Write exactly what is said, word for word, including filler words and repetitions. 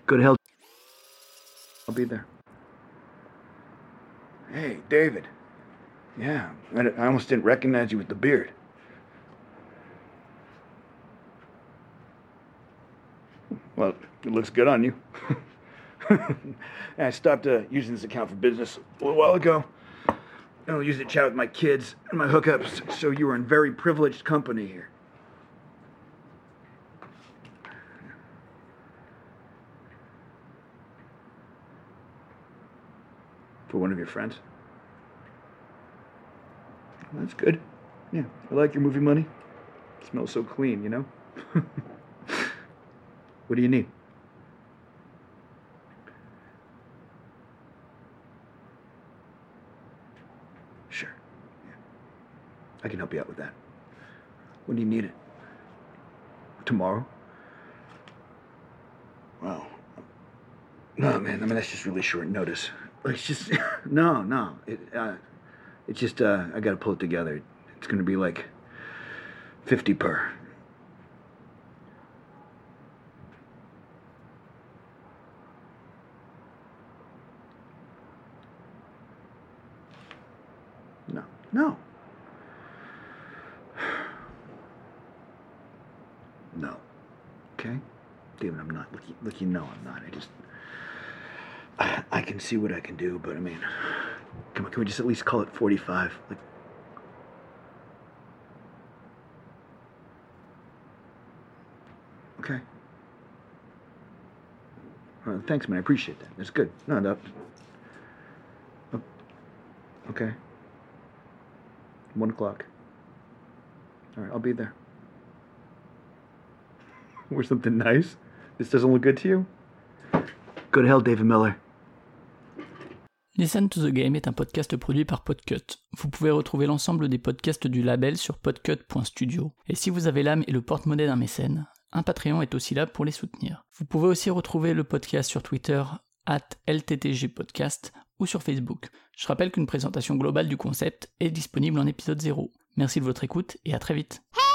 Go to hell. I'll be there. Hey, David. Yeah, I almost didn't recognize you with the beard. Well, it looks good on you. I stopped uh, using this account for business a little while ago. I don't use it to chat with my kids and my hookups, so you were in very privileged company here. For one of your friends? Well, that's good. Yeah, I like your movie money. It smells so clean, you know? What do you need? Sure. Yeah. I can help you out with that. When do you need it? Tomorrow? Wow. No, man, I mean, that's just really short notice. It's just, no, no. It, uh, it's just, uh, I gotta pull it together. It's gonna be like fifty per. No, no. No. Okay? David, I'm not. Look, look, you know I'm not. I just, I, I can see what I can do, but I mean, come on, can we just at least call it forty-five? Like, okay. Uh, thanks, man. I appreciate that. That's good. No, no. Oh, okay. One o'clock. All right, I'll be there. Wear something nice? This doesn't look good to you? Go to hell, David Miller. Listen to the Game est un podcast produit par Podcut. Vous pouvez retrouver l'ensemble des podcasts du label sur podcut point studio. Et si vous avez l'âme et le porte-monnaie d'un mécène, un Patreon est aussi là pour les soutenir. Vous pouvez aussi retrouver le podcast sur Twitter arobase L T T G podcast ou sur Facebook. Je rappelle qu'une présentation globale du concept est disponible en épisode zéro. Merci de votre écoute et à très vite.